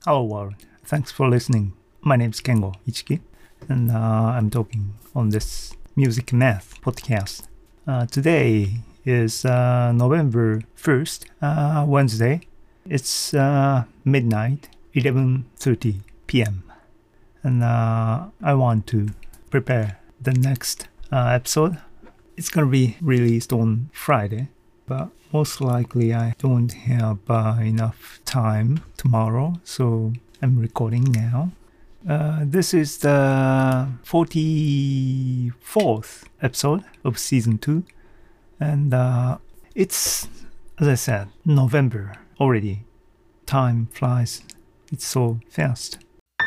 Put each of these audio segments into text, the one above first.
Hello world, thanks for listening. My name is Kengo Ichiki, and I'm talking on this Music Math podcast. Today is November 1st, Wednesday. It's midnight, 11:30 p.m. And I want to prepare the next episode. It's gonna be released on Friday, but most likely I don't have enough time tomorrow, so I'm recording now. This is the 44th episode of season 2, and it's, as I said, November already. Time flies, it's so fast.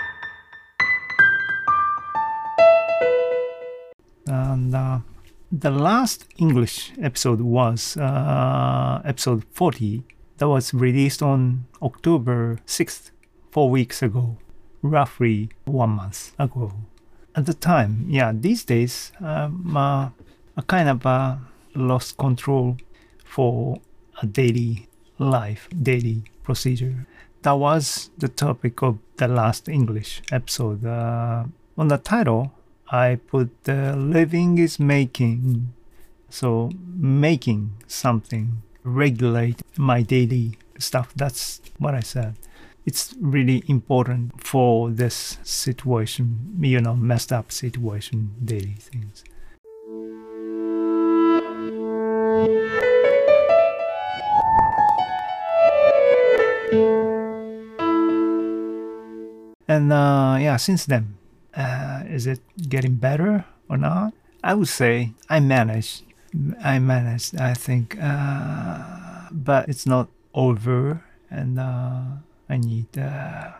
And the last English episode was episode 40. That was released on October 6th, 4 weeks ago, roughly 1 month ago. At the time, these days, I kind of lost control for a daily life, daily procedure. That was the topic of the last English episode. On the title, I put living is making. So making something, regulate my daily stuff. That's what I said. It's really important for this situation, messed up situation, daily things. And since then, is it getting better or not? I would say I managed, I think, but it's not over, and I need to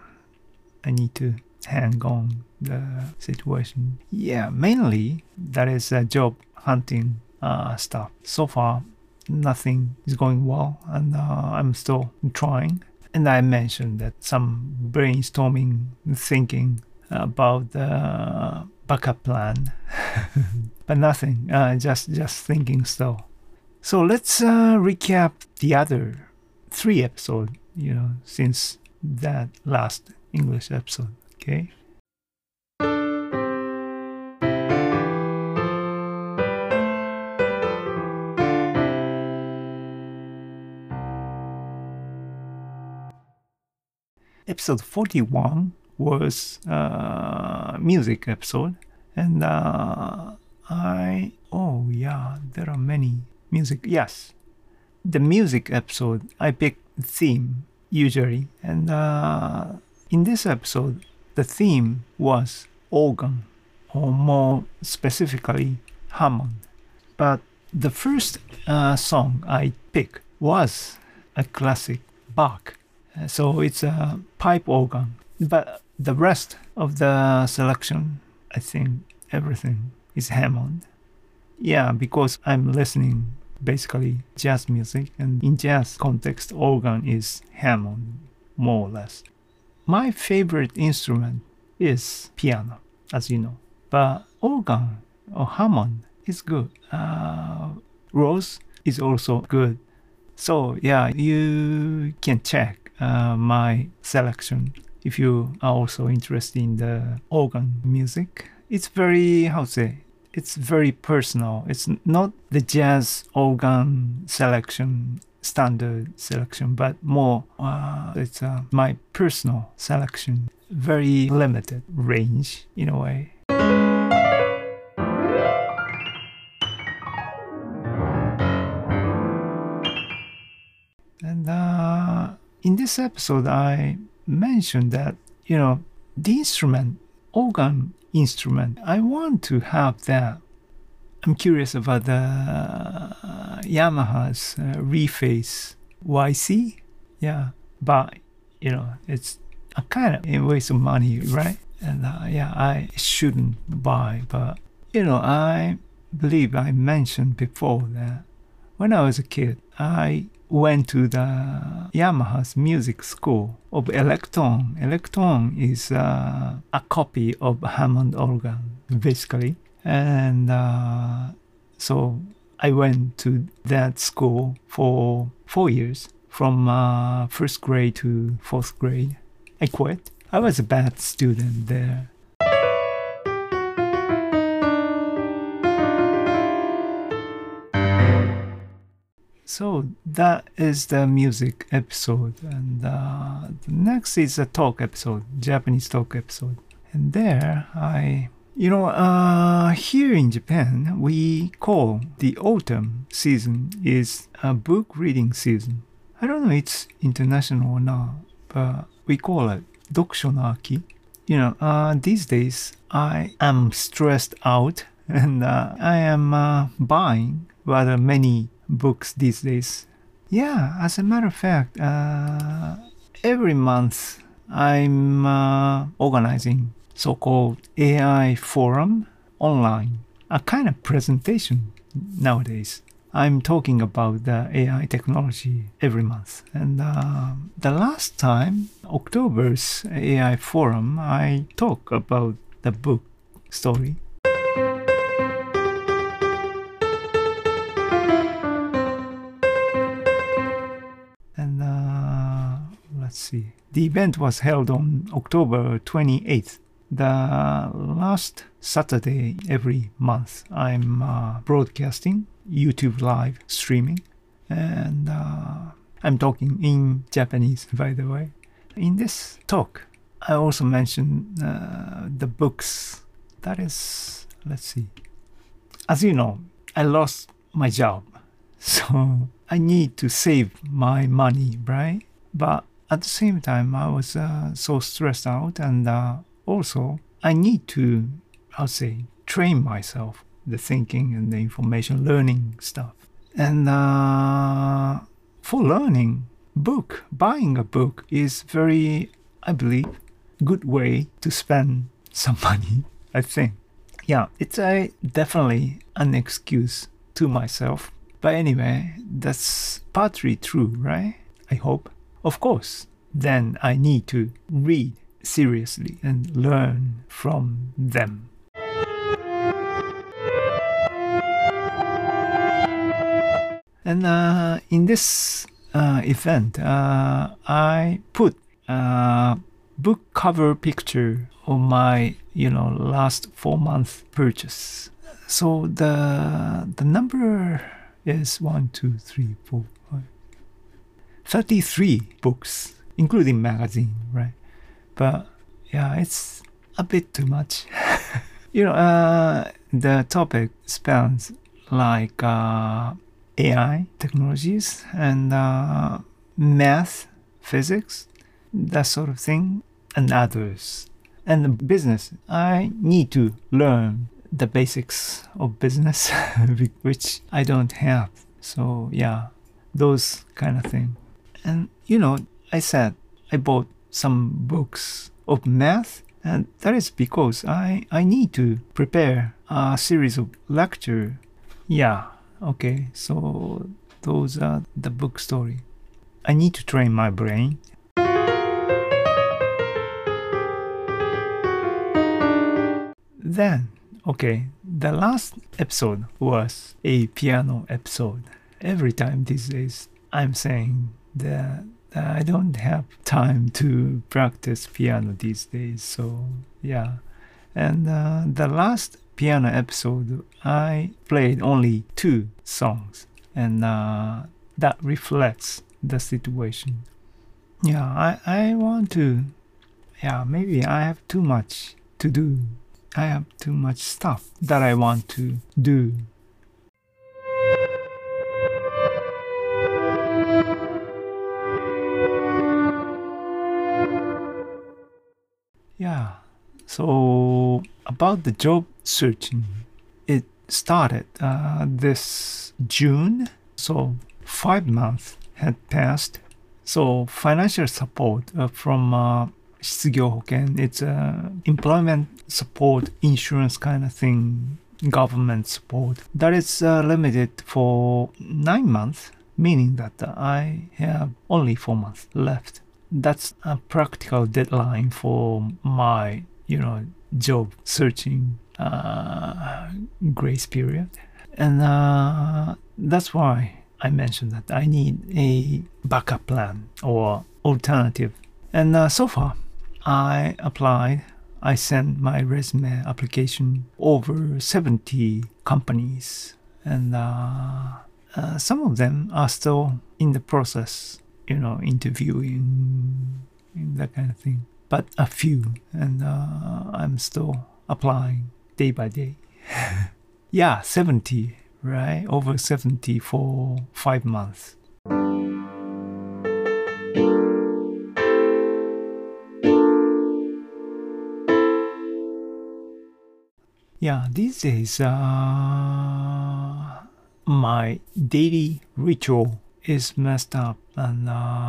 hang on the situation. Mainly that is job hunting stuff. So far, nothing is going well, and I'm still trying. And I mentioned that some brainstorming, thinking about the backup plan, but nothing, just thinking still. So let's recap the other 3 episodes, since that last English episode, okay? Episode 41 was music episode, and there are many music. Yes, the music episode I pick theme usually, and in this episode the theme was organ, or more specifically Hammond. But the first song I picked was a classic Bach, so it's a pipe organ. But the rest of the selection, I think everything is Hammond. Because I'm listening basically jazz music, and in jazz context, organ is Hammond, more or less. My favorite instrument is piano, as you know, but organ or Hammond is good. Rose is also good. So you can check my selection if you are also interested in the organ music. It's very, it's very personal. It's not the jazz organ selection, standard selection, but more, it's my personal selection. Very limited range in a way. And in this episode, I mentioned that, the instrument, organ instrument, I want to have that. I'm curious about the Yamaha's Reface YC. But, it's a kind of a waste of money, right? And I shouldn't buy. But, I believe I mentioned before that when I was a kid, I went to the Yamaha's music school of Electron. Electron is a copy of Hammond organ, basically. And so I went to that school for 4 years, from first grade to fourth grade. I quit. I was a bad student there. So that is the music episode, and the next is a talk episode, Japanese talk episode. And there here in Japan, we call the autumn season is a book reading season. I don't know it's international or not, but we call it Dokusho no Aki. These days I am stressed out and I am buying rather many books these days. Yeah, as a matter of fact, every month I'm organizing so-called AI forum online, a kind of presentation nowadays. I'm talking about the AI technology every month. And the last time, October's AI forum, I talk about the book story. And let's see. The event was held on October 28th. The last Saturday every month, I'm broadcasting YouTube live streaming, and I'm talking in Japanese, by the way. In this talk, I also mentioned the books. That is, let's see. As you know, I lost my job, so I need to save my money, right? But at the same time, I was so stressed out, and also I need to, train myself, the thinking and the information learning stuff. And for learning, buying a book is very, I believe, good way to spend some money, I think. Yeah, it's definitely an excuse to myself. But anyway, that's partly true, right? I hope. Of course, then I need to read seriously and learn from them. And in this event, I put a book cover picture of my, last 4-month purchase. So the number is 33 books, including magazine, right? But yeah, it's a bit too much. The topic spans like AI technologies and math, physics, that sort of thing, and others. And business, I need to learn the basics of business, which I don't have. So yeah, those kind of thing. And I said I bought some books of math, and that is because I need to prepare a series of lecture. Yeah, okay, so those are the book story. I need to train my brain. Then, okay, the last episode was a piano episode. Every time these days I'm saying that I don't have time to practice piano these days, so yeah. And the last piano episode, I played only 2 songs, and that reflects the situation. Yeah, I want to, maybe I have too much to do. I have too much stuff that I want to do. Yeah, so about the job searching, it started this June, so 5 months had passed. So financial support from 失業保険, it's employment support, insurance kind of thing, government support. That is limited for 9 months, meaning that I have only 4 months left. That's a practical deadline for my, job searching grace period. And that's why I mentioned that I need a backup plan or alternative. And so far, I applied. I sent my resume application over 70 companies, and some of them are still in the process, interviewing and that kind of thing. But a few, and I'm still applying day by day. Yeah, 70, right? Over 70 for 5 months. Yeah, these days, my daily ritual is messed up. And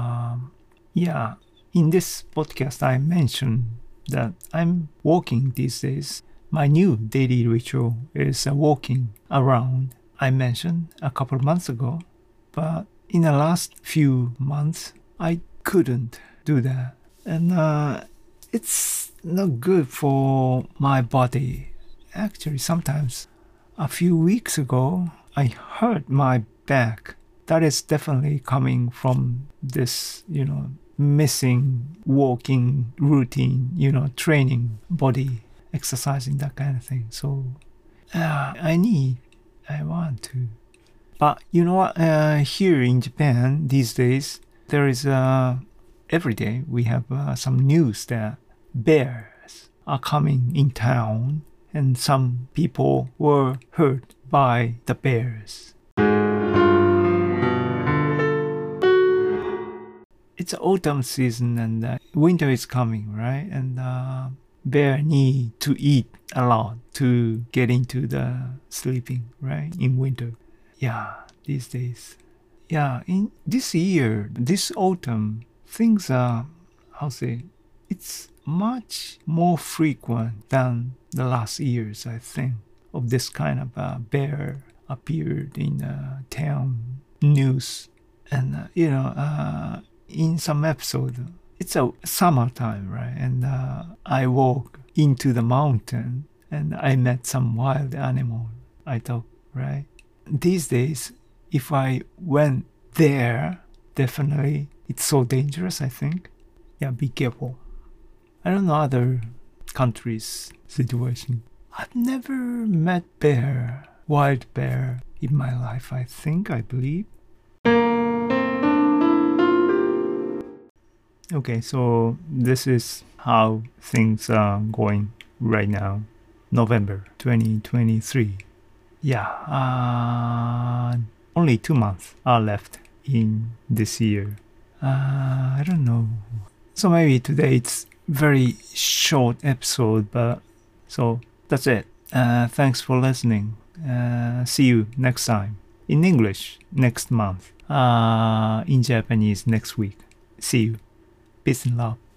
in this podcast, I mentioned that I'm walking these days. My new daily ritual is walking around. I mentioned a couple of months ago, but in the last few months, I couldn't do that. And it's not good for my body. Actually, sometimes a few weeks ago, I hurt my back. That is definitely coming from this, missing walking routine, training body, exercising, that kind of thing. So I want to. But you know what? Here in Japan these days, there is every day we have some news that bears are coming in town. And some people were hurt by the bears. It's autumn season and winter is coming, right? And bear need to eat a lot to get into the sleeping, right? In winter. Yeah, these days. Yeah, in this year, this autumn, things are, it's much more frequent than the last years, I think, of this kind of bear appeared in town news. And, in some episode, it's a summertime, right? And I walk into the mountain and I met some wild animal, I thought, right? These days, if I went there, definitely it's so dangerous, I think. Yeah, be careful. I don't know other countries' situation. I've never met wild bear in my life, I believe. Okay, so this is how things are going right now, November 2023. Yeah, only 2 months are left in this year. I don't know. So maybe today it's very short episode, but so that's it. Thanks for listening. See you next time. In English next month. In Japanese next week. See you. Peace and love.